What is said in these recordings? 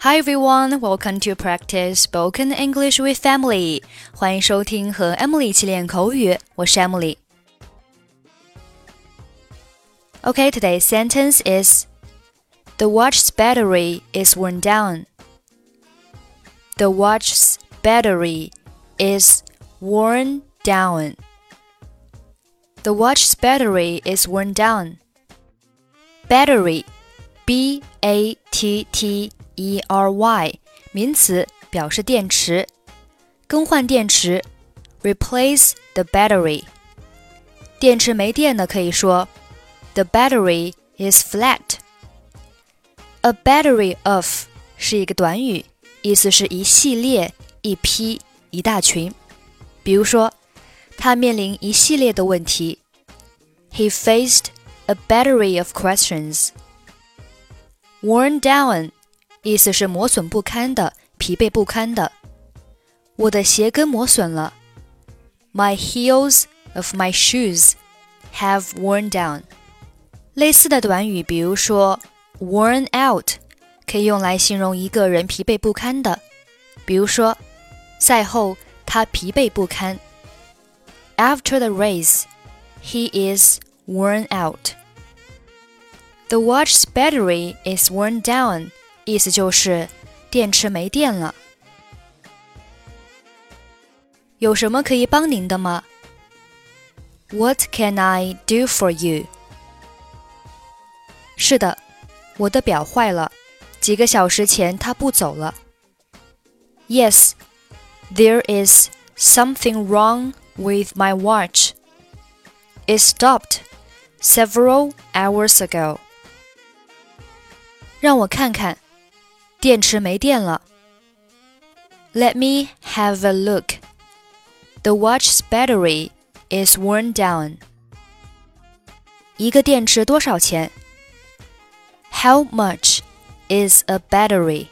Hi everyone, welcome to practice spoken English with Emily. 欢迎收听和 Emily 一起练口语，我是 Emily. Okay, today's sentence is The watch's battery is worn down. The watch's battery is worn down. The watch's battery is worn down. Battery, B-A-T-T-E-R-Y 名词，表示电池。更换电池 Replace the battery. 电池没电了可以说 The battery is flat. A battery of 是一个短语，意思是一系列、一批、一大群。比如说，他面临一系列的问题。He faced a battery of questions. Worn down 意思是磨损不堪的、疲惫不堪的。我的鞋跟磨损了。My heels of my shoes have worn down. 类似的短语，比如说 worn out 可以用来形容一个人疲惫不堪的。比如说，赛后他疲惫不堪。After the race, he is worn out. The watch's battery is worn down. 意思就是电池没电了。有什么可以帮您的吗？ What can I do for you? 是的，我的表坏了，几个小时前它不走了。Yes, there is something wrong with my watch. It stopped several hours ago. 让我看看，电池没电了。Let me have a look. The watch's battery is worn down. 一个电池多少钱？ How much is a battery?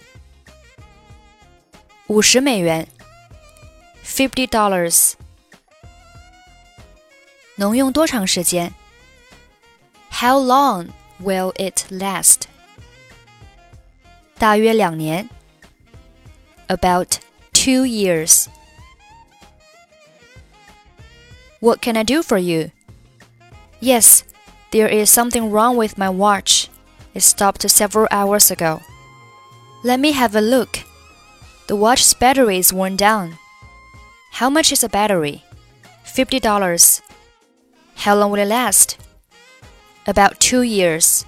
50美元。$50. 能用多长时间？ How long will it last? 大约2年。About 2 years. What can I do for you? Yes, there is something wrong with my watch. It stopped several hours ago. Let me have a look. The watch's battery is worn down. How much is a battery? $50. How long will it last? About 2 years.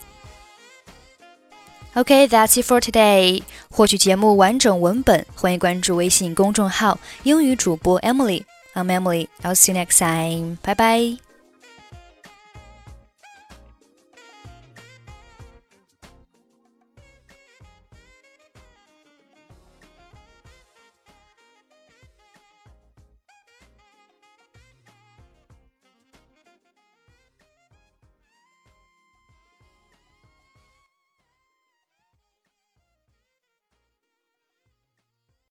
Okay, that's it for today. 获取节目完整文本，欢迎关注微信公众号英语主播 Emily. I'm Emily. I'll see you next time. Bye bye.